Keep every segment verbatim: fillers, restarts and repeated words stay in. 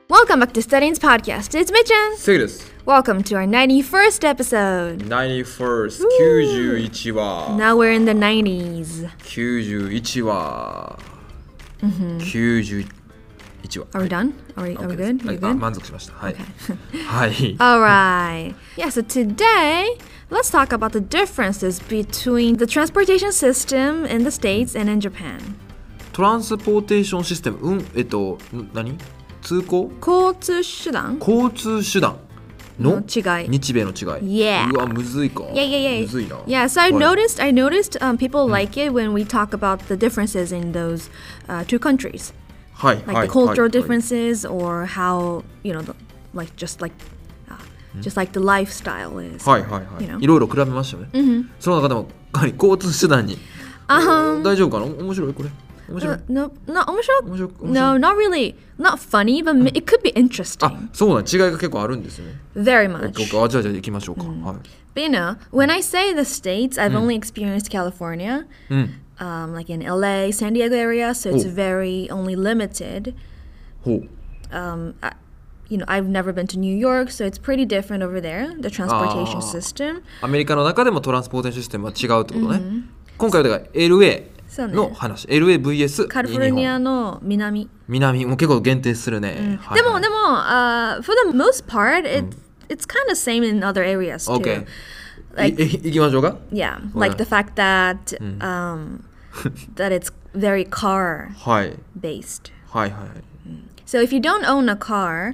Welcome back to Studying's podcast. It's Mitchan. セイです。 Welcome to our ninety-first episode. ナインティファースト、きゅうじゅういちわ。 Now we're in the nineties. きゅうじゅういちわ。きゅうじゅういちわ。 Are we done? Are we, are we good? Are we あ、 good? 満足しました。はい。はい。 Alright. Yeah, so today, let's talk about the differences between the transportation system in the States and in Japan. トランスポーテーションシステム、うん、えっと、ん何通行交通手段交通手段の違い日米の違い。 Yeah. うわ、むずいか。 Yeah, yeah, yeah. むずいな。 Yeah, so I はい noticed, I noticed um, people like it when we talk about the differences in those uh, two countries. はい、 Like はい、 the cultural はい differences or how, you know, the, like just like, uh, just like the lifestyle is. はい、はい、はい。 You know? いろいろ比べましたよね。その中でも、やはり交通手段に。 Um, 大丈夫かな面白いこれ。面白い uh, no, no, 面白い面白い No, not really. Not funny, but it could be あ、 interesting. そうなん、違いが結構あるんですよね。 Very オッ much. ケーオッケーあ、じゃあじゃあ行きましょうか。はい。 But you know, when I say the States, I've only experienced California, うん。 um, like in L A, San Diego area, so it's Oh. very only limited. ほう。 Um, I, you know, I've never been to New York, so it's pretty different over there, the transportation Ah. system. アメリカの中でもトランスポーテーションシステムは違うってことね。今回はだから エルエー の話。エルエーブイエスカリフォルニアの南。 南も結構限定するね。はいでも、でも、uh, for the most part, it, it's kind of same in other areas too. OK。 Like, いいきましょうか。 yeah, like the fact that, um, that it's very car はい。 based. はいはい。 So if you don't own a car,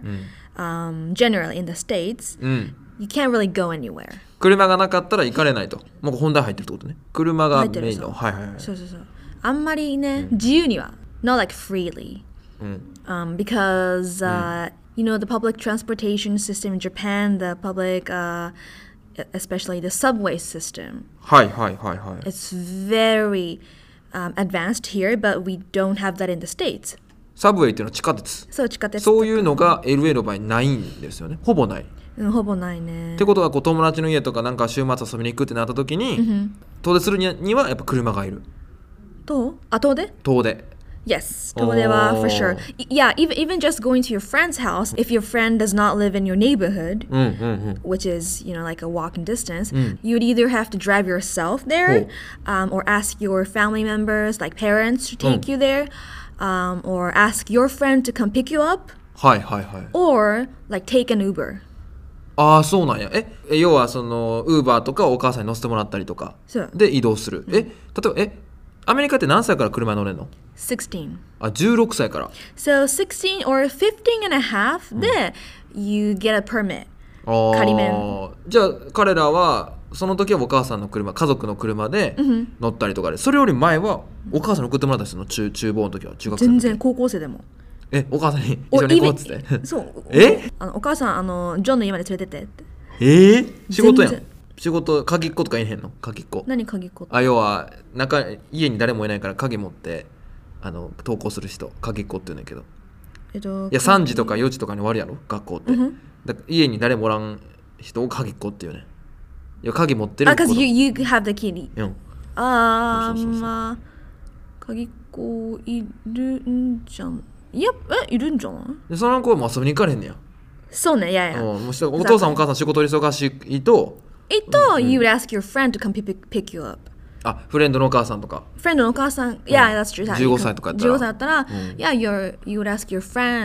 um, generally in the States, うん。 you can't really go anywhere. 車がなかったら行かれないと。もう本題入ってるってことね。車が入ってるメインの。はいはいはい。 そうそうそう。あんまりね、自由には not like freely. うん。 Um, because uh, you know the public transportation system in Japan, the public, uh, especially the subway system, はいはいはいはい。 it's very um, advanced here, but we don't have that in the States. サブウェイっていうのは地下鉄。 そう地下鉄そういうのが エルエー の場合ないんですよね。ほぼない。っうんほぼないね。 てことはこう友達の家とかなんか週末遊びに行くってなった時に、遠出するにはにはやっぱ車がいる。 とあ遠出遠出。 Yes, 遠出は for sure. Yeah, even even just going to your friend's house, if your friend does not live in your neighborhood, うんうんうん。 which is, you know, like a walking distance, you'd either have to drive yourself there, um, or ask your family members, like parents, to take you there, um, or ask your friend to come pick you up, はいはいはい。 or like take an Uber. ああそうなんや。ええ要はそのウーバーとかお母さんに乗せてもらったりとかそうで移動する。え例えばえアメリカって何歳から車乗れんの？ sixteen. あじゅうろくさいから。 So sixteen or fifteen and a half, then you get a permit. ああ仮免じゃあ彼らはその時はお母さんの車家族の車で乗ったりとかで、それより前はお母さんに送ってもらったりするの中厨房の時は中学生の時。 全然高校生でも。 えお母さんに一緒に行こうっつって。 そうえあのお母さんあのジョンの家まで連れてってって。 えー、仕事やん全然。 仕事鍵っ子とかいへんの鍵っ子。 何鍵っ子って。 あ要は中家に誰もいないから鍵持ってあの登校する人鍵っ子って言うねんけど、 えっと、 いやさんじとかよじとかに終わるやろ学校って、だから家に誰もおらん人を鍵っ子っていうね。いや鍵持ってるあ、 子 because you, you have the key. うんあーそうそうそうそうまあ鍵っ子いるんじゃん。いやえいるんじゃないでその子も遊びに行かれへんねや。 そうねいやいや。 うんもうしたお父さんお母さん仕事忙しいとえっと、you would ask your friend to come pick, pick you up. あフレンドのお母さんとか friend のお母さん、yeah, that's true. じゅうごさいとかやったらじゅうごさいだったら、yeah, you're, you would ask your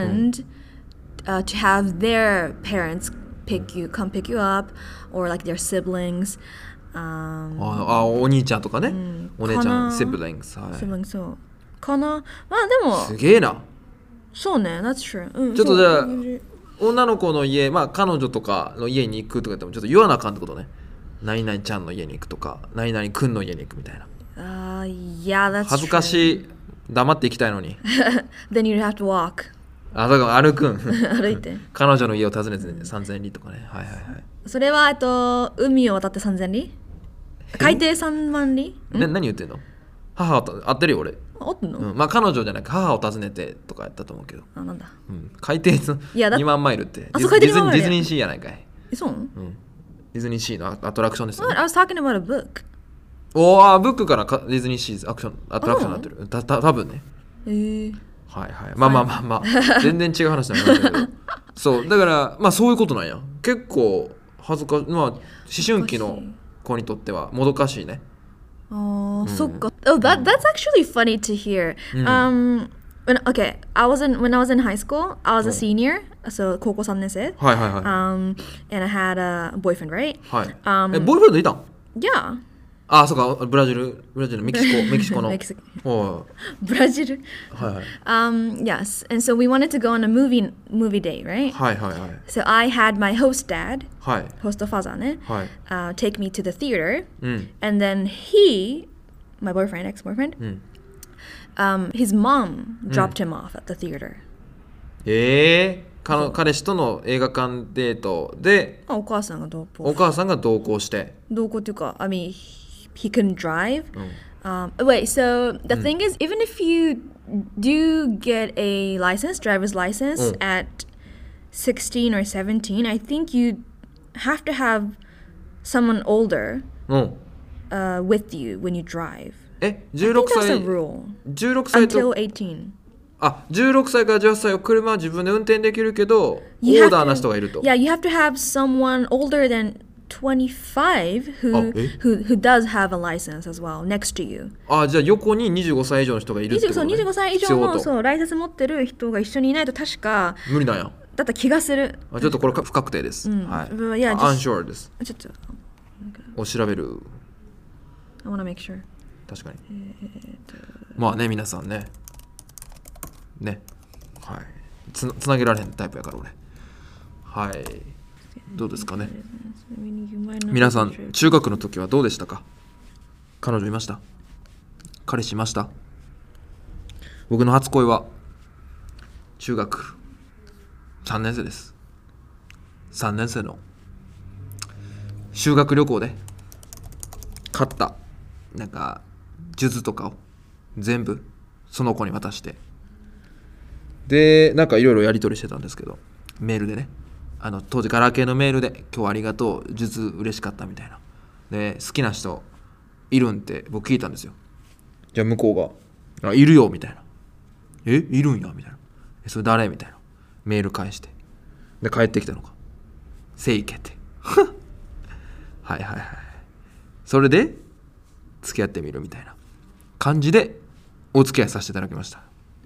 friend、uh, to have their parents pick you, come pick you up, or like their siblings. Um, ああお兄ちゃんとかね、お姉ちかなゃんシブリングス、はい、 siblings そうかな。まあでもすげえな。 そうね that's true、うん、 ちょっとじゃあそう女の子の家まあ彼女とかの家に行くとか言ってもちょっと言わなあかんってことね。何々ちゃんの家に行くとか何々くんの家に行くみたいな。 あー yeah that's true. 恥ずかしい黙って行きたいのに then you'd have to walk. あだから歩くん歩いて彼女の家を訪ねてさんぜん里とかね。はいはいはい。 それはえっと海を渡ってさんぜん里海底さんまん里な何言ってんの？母を合ってるよ俺。 あったの、 うん、まあ彼女じゃなく母を訪ねてとかやったと思うけど、 あなんだうん、海底いやだにまんマイルってあそう海底ディズにまんマイルディズニーシーやないかい。 えそうなの、 うん、ディズニーシーのアアトラクションですよ What? ね。 I was talking about a book. おーブックからかディズニーシーアクションアトラクションになってる。たた多分ね。 へえはいはい。まあまあまあまあ全然違う話になりましたけどそうだからまあそういうことなんや。結構恥ずかまあ思春期の子にとってはもどかしいね。 Oh, so go- oh, that that's actually funny to hear. Um, when okay, I was in when I was in high school. I was a senior, so 高校さんねん生. はいはいはい。 Um, and I had a boyfriend, right? はい。 Um, えボーイフレンドいたん？ Yeah. ああそうかブラジルブラジルメキシコメキシコの。 メキシコ。 おブラジル。 いはいはい。 Um, yes, and so we wanted to go on a movie movie date, right? はいはいはい。 So I had my host dad, はい host father ね、 はい。 uh, take me to the theater, うん。 and then he, my boyfriend, ex-boyfriend, うん。 um, his mom dropped him off at the theater. ええー、彼彼氏との映画館デートでお母さんが同行。 お母さんが同行して。 同行っていうか、I mean, he couldn't drive. Um, wait, so the thing is, even if you do get a license, driver's license at sixteen or seventeen, I think you have to have someone older うん。 uh, with you when you drive. え I 16 think that's 歳 a rule 16歳 until と eighteen. あじゅうろくさいからじゅうはっさいは車は自分で運転できるけどオ You ー have ダー to- な人がいると。 Yeah, you have to have someone older than twenty-five who, あ、え？ who, who does have a license as well next to you. あじゃあ横ににじゅうごさい以上の人がいるってことね。 にじゅうごさい以上必要とのそうライセンス持ってる人が一緒にいないと確か無理なんや。 だった気がする。 あちょっとこれ不確定です。はい。 うんいやあ just- unsure です。 ちょっと、 お調べる。 I wanna make sure. 確かに。まあね皆さんね。ね。はい。つなつなげられへんタイプやから俺。はい。どうですかね。皆さん中学の時はどうでしたか？彼女いました？彼氏いました？僕の初恋は中学さんねん生です。さんねん生の修学旅行で買ったなんか数珠とかを全部その子に渡してでなんかいろいろやり取りしてたんですけどメールでねあの当時ガラケーのメールで今日はありがとう数珠嬉しかったみたいなで好きな人いるんって僕聞いたんですよ。じゃあ向こうがあいるよみたいなえいるんやみたいなえそれ誰みたいなメール返してで帰ってきたのかせいけってはいはいはいそれで付き合ってみるみたいな感じでお付き合いさせていただきました。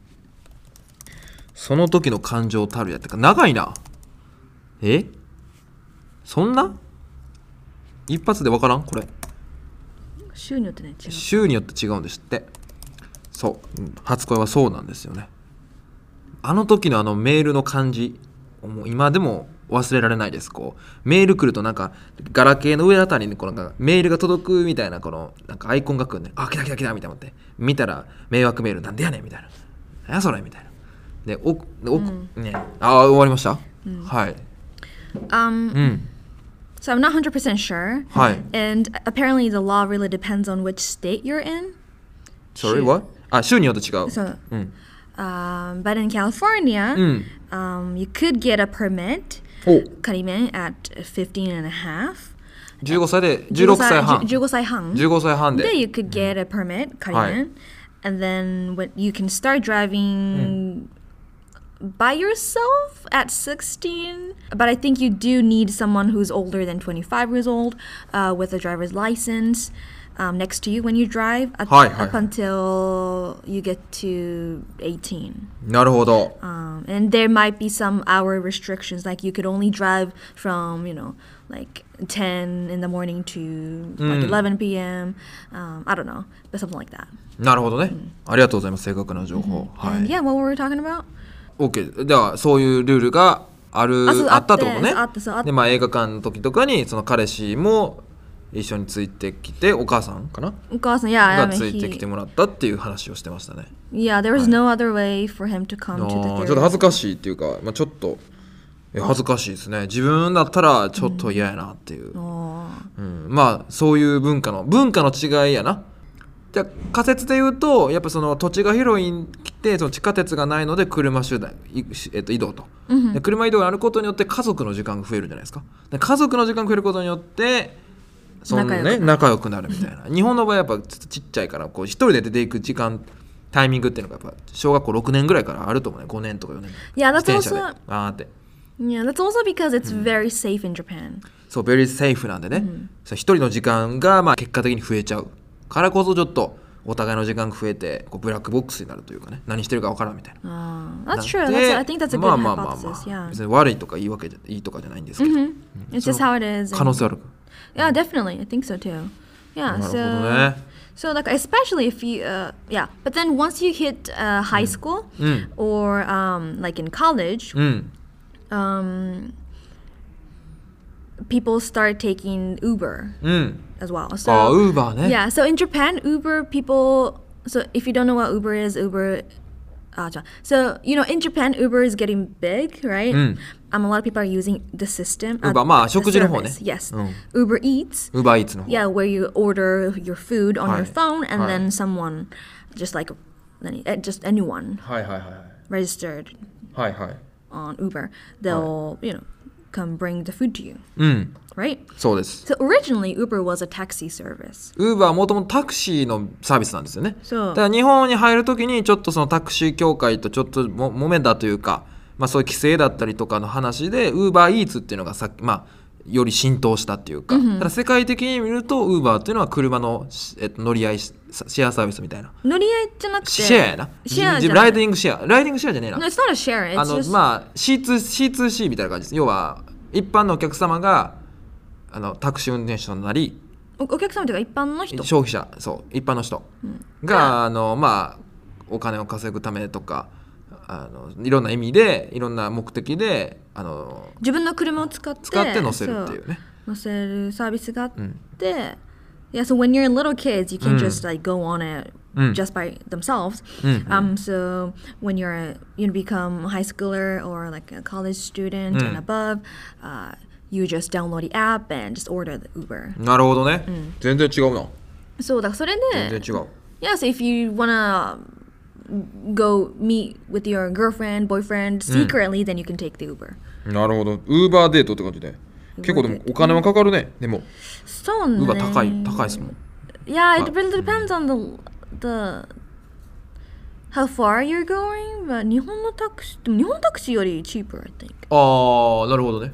その時の感情たるやってか長いなえそんな一発で分からんこれ週によってね違う。 週によって違うんですってそう初恋はそうなんですよね。あの時のあのメールの感じもう今でも忘れられないです。こうメール来るとなんかガラケーの上あたりにこのなんかメールが届くみたいなこのなんかアイコンが来るねあ来た来た来たみたいな思って見たら迷惑メールなんでやねんみたいな何やそれみたいなでおお、ねあ終わりました、はい Um, うん so I'm not one hundred percent sure. はい And apparently the law really depends on which state you're in. Sorry what? あ州によって違う So, うん um, but in California, うん um, you could get a permit, お karimen, at fifteen and a half. じゅうごさいでじゅうろくさいはんじゅうごさいはんじゅうごさいはんで Then you could get a permit, karimen. はい And then when you can start driving by yourself at sixteen. But I think you do need someone who's older than twenty-five years old uh, with a driver's license um, next to you when you drive at, はいはいはい up until you get to eighteen. なるほど Um, and there might be some hour restrictions, like you could only drive from, you know, like ten in the morning to like eleven p.m. Um, I don't know, but something like that. なるほどね、ありがとうございます正確な情報、は And い yeah, what were we talking about? OK ではそういうルールがあるあそうあったってことねあってそうあってでまあ映画館の時とかにその彼氏も一緒についてきてお母さんかな Because, yeah, I が mean, ついてき he, てもらったっていう話をしてましたね yeah, there was no other way for him to come あ to the ー theater. ちょっと恥ずかしいっていうか、まあ、ちょっとえ恥ずかしいですね自分だったらちょっと嫌やなっていう、 Oh. うん、まあそういう文化の文化の違いやなじゃあ仮説で言うとやっぱその土地が広いん来てその地下鉄がないので車手段、いえっと、移動と、で車移動があることによって家族の時間が増えるじゃないですかで家族の時間が増えることによってその、ね、仲良くなるみたいな日本の場合やっぱちょっとちっちゃいからこう一人で出ていく時間タイミングっていうのがやっぱ小学校ろくねんぐらいからあると思うねごねんとかよねん Yeah, that's 自転車で also あーって Yeah, that's also because it's very safe in Japan. そう、very safe なんでね、そう一人の時間がまあ結果的に増えちゃうからこそちょっとお互いの時間が増えてこうブラックボックスになるというかね、何してるか分からんみたいな。 Uh, that's true. That's, I think that's a good まあまあまあま hypothesis. あ、 Yeah. 別に悪いとかいいわけじゃいいとかじゃないんですけど、 Mm-hmm. It's just how it is. 可能性ある。 Yeah, definitely. I think so too. Yeah. なるほど So. ね。 So like especially if you uh, yeah, but then once you hit uh, high school or um, like in college, うん。 um, people start taking Uber うん。 as well. あ、 So ウーバーね。 yeah, so in Japan, Uber people. So if you don't know what Uber is, Uber. Uh, so you know, in Japan, Uber is getting big, right? Um, a lot of people are using the system. uh, Uber まあ the 食事の方ね。 service. Yes, うん。 Uber Eats. ウーバーイーツの方。 Yeah, where you order your food on はい。 your phone and はい。 then someone, just like, any- eh, just anyone はいはいはい registered はいはい。 on Uber, they'll you know come bring the food to you, うん。 right? そうです。 So originally, Uber was a taxi service. ウーバーはもともとタクシーのサービスなんですよね。 そうだから日本に入るときにちょっとそのタクシー協会とちょっとも揉めたというか、まあ、そういう規制だったりとかの話でウーバーイーツっていうのがさ、まあ、より浸透したっていうか、ただ世界的に見るとウーバーっていうのは車の、えっと、乗り合いシェアサービスみたいな。 乗り合いじゃなくてシェアやな。 シェアじゃない。 ライディングシェアライディングシェアじゃねえな。 No, it's not a share. あ It's の just まあ シーツーシーツーシー みたいな感じです。要は一般のお客様があのタクシー運転手となり、 おお客様というか一般の人。 消費者、そう一般の人が、あのまあお金を稼ぐためとか、あのいろんな意味でいろんな目的であの自分の車を使って使って乗せるっていうね。 そう乗せるサービスがあって、yeah, so when you're little kids, you can just like go on it just by themselves. Um, so when you're a, you become a high schooler or like a college student and above, uh, you just download the app and just order the Uber. なるほどね。全然違うな。 そうだからそれで、 全然違う。 yeah, so if you wanna go meet with your girlfriend, boyfriend secretly, then you can take the Uber. なるほど。ウーバーデートって感じで。結構でもお金はかかるね。でもそうね。 ウーバー高い高いですもん。 Yeah, it really depends on the the how far you're going. But 日本のタクシー、でも日本のタクシーより cheaper, I think. ああ、なるほどね。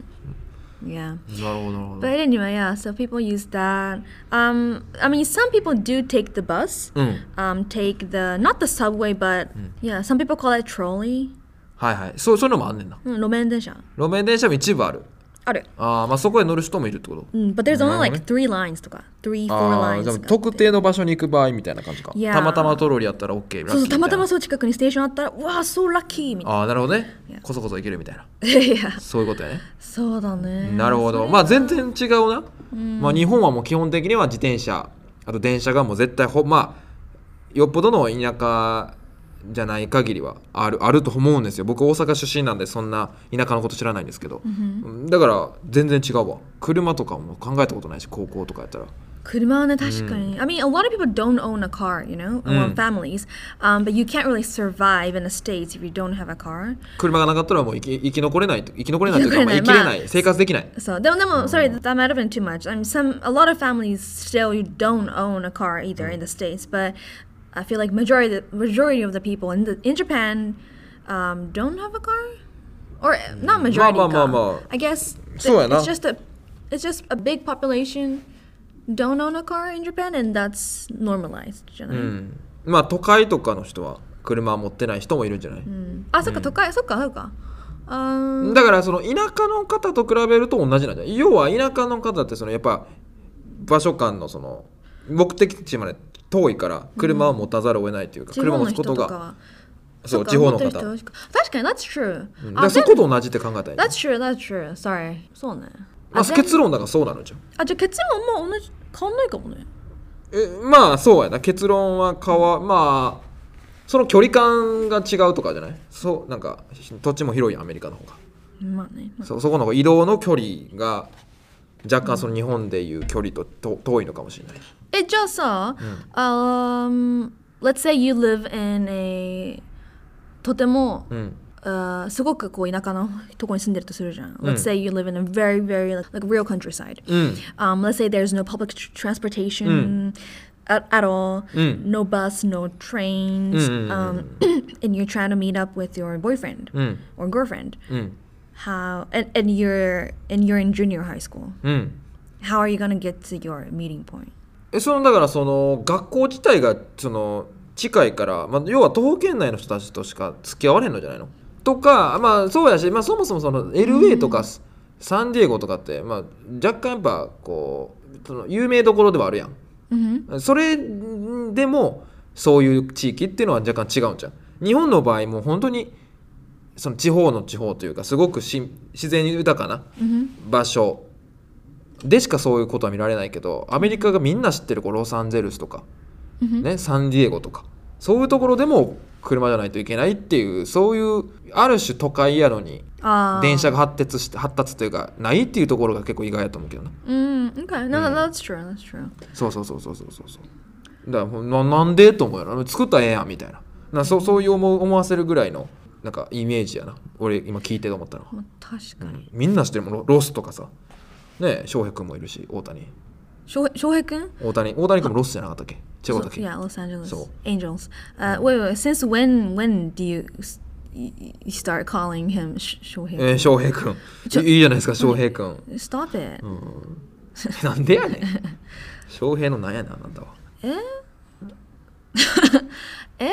Yeah. なるほどなるほど。 But anyway, yeah. So people use that. Um, I mean, some people do take the bus. うん。 Um, take the not the subway, but yeah, some people call it trolley. はいはい。そうそういうのもあんねんな。 うん、路面電車。 路面電車も一部ある。 ある。 ああ、まあそこへ乗る人もいるってこと。 うん、but there's なるほ only どね。 like three lines とか three, four ああ、 lines じゃあとか特定の場所に行く場合みたいな感じか。 Yeah. たまたまトロリーやったら OK ラッキーみたいな。 そうそう、たまたまそう近くにステーションあったら、うわー、so lucky みたいな。 ああ、なるほどね。 Yeah. こそこそ行けるみたいな。 いや、 そういうことやね。 そうだね。 なるほど。まあ全然違うな。まあ日本はもう基本的には自転車、あと電車がもう絶対ほまあよっぽどの田舎じゃない限りはあるあると思うんですよ。僕大阪出身なんでそんな田舎のこと知らないんですけど、だから全然違うわ。車とかも考えたことないし、高校とかやったら。 車はね、確かに。I mean, a lot of people don't own a car, you know, among families. Um, but you can't really survive in the States if you don't have a car. 車がなかったらもう生き生き残れないと生き残れないというか、まあ、 生き残れない生きれない、生活できない。 そう、でもでも、sorry, that might have been too much. I mean, some, a lot of families still you don't own a car either in the States, but I feel like majority, the majority of the people in the in Japan um, don't have a car, or not majority. まあまあまあまあ。 I guess そうやな。 it's just a, it's just a big population don't own a car in Japan, and that's normalized. じゃない？ まあ都会とかの人は車持ってない人もいるんじゃない？ あ、そっか都会、そっかそっか。あだからその田舎の方と比べると同じなんじゃない？要は田舎の方ってそのやっぱ場所間のその目的地まで遠いから車を持たざるを得ないというか、車を持つことがそう地方の方。確かに that's true。 だからそこと同じって考えたらいい。 That's true, that's true. Sorry. そうね。 まあ結論だからそうなのじゃん。 あ、じゃあ結論も同じ変わんないかもね。 えまあそうやな。結論は変わまあその距離感が違うとかじゃない？そうなんか土地も広いアメリカの方が。 まあね。まあ、 そ, そこの移動の距離が若干その日本でいう距離とと遠いのかもしれない。 え、じゃあさ、um, let's say you live in a とても、 うん Uh, すごくこう田舎のとこに住んでるとするじゃん。Let's say you live in a very, very like, like real countryside. Um, let's say there's no public tr- transportation at, at all, no bus, no trains, um, and you're trying to meet up with your boyfriend or girlfriend. how and, and you're and you're in junior high school. うん How are you gonna get to your meeting point? えそのだからその学校自体がその近いから、まあ、要は徒歩圏内の人たちとしか付き合われんのじゃないのとか、まあそうやし、まあ、そもそもその エルエー とかサンディエゴとかって、まあ、若干やっぱこうその有名どころではあるやん、 Mm-hmm. それでもそういう地域っていうのは若干違うんじゃん。日本の場合も本当にその地方の地方というかすごくし自然豊かな場所でしかそういうことは見られないけど、アメリカがみんな知ってるこうロサンゼルスとか、 Mm-hmm. ね、サンディエゴとかそういうところでも車じゃないといけないっていうそういうある種都会やのに Uh, 電車が発達して発達というかないっていうところが結構意外だと思うけどな。 mm, okay, no, that's true. That's true. そうそうそうそうそうそうそうだからななんでと思うやろ作ったらええやんみたいななそそういう思思わせるぐらいのなんかイメージやな俺今聞いてて思ったのは、 まあ、確かに、 うん、みんな知ってるもんロロスとかさね翔平君もいるし大谷翔平翔平君大谷大谷君もロスじゃなかったっけ違うだっけ Yeah, Los Angeles そう Angels. Uh, wait, wait, since when when do you you start calling him Sh- 翔平君、 えー、翔平君ちょいいじゃないですか翔平君、 Stop it、 うん、なんでやねん翔平のなんやねんあなたはええ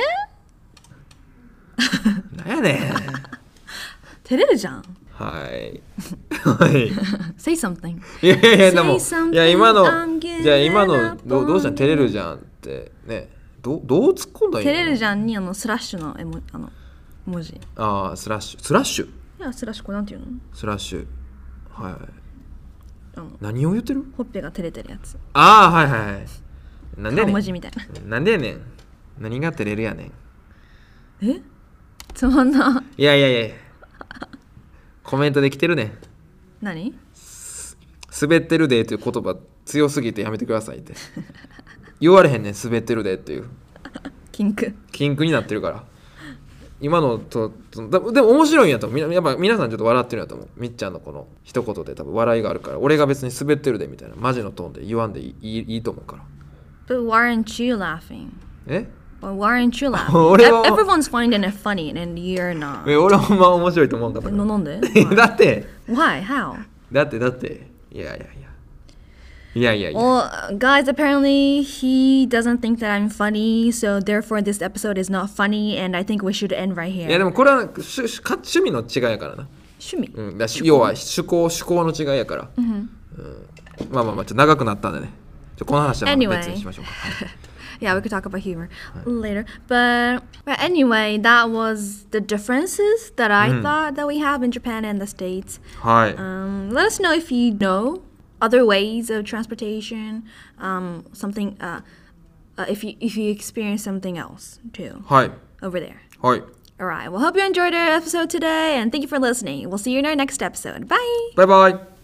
なんやねん照れるじゃんはいはい Say something いやいやいやでも Say something, いや今の I'm getting じゃあ今の up どうどうしたん on 照れるじゃんってねどどう突っ込んだらいいの照れるじゃんにあのスラッシュの絵もあの文字いああスラッシュスラッシュやスラッシュこれなんていうのスラッシュはいあの何を言ってるほっぺが照れてるやつああはいはいはいなんでや顔ねん文字みたいななんでやねん何が照れるやねんえつまんないやいやいやコメントで来てるねん何滑ってるでという言葉強すぎてやめてくださいって言われへんねん滑ってるでっていうキンク禁句になってるから今のととだでも面白いんやと思うみなやっぱ皆さんちょっと笑ってるんやと思うみっちゃんのこの一言で多分笑いがあるから俺が別に滑ってるでみたいなマジのトーンで言わんでいい、いい、いいと思うから But why aren't you laughing? え Well, why aren't you laughing? 俺は Everyone's finding it funny and you're not え俺はほんま面白いと思うんかったかななんでらだって Why? How? だってだっていやいやいやいやいやいや Well, guys, apparently he doesn't think that I'm funny, so therefore this episode is not funny, and I think we should end right いやで here. もこれは趣趣趣味の違いやからな、 趣味うん、だし要は趣向趣向の違いやから、うん、まあまあまあちょっと長くなったんでねちょこの話はまた別にしましょうか、 Yeah, we could talk about humor later. But, but anyway, that was the differences that I thought that we have in Japan and the States. はい、 Um, let us know if you know other ways of transportation, um, something, uh, uh, if you if you experience something else too はい over there. はい All right. Well, hope you enjoyed our episode today, and thank you for listening. We'll see you in our next episode. Bye. バイバイ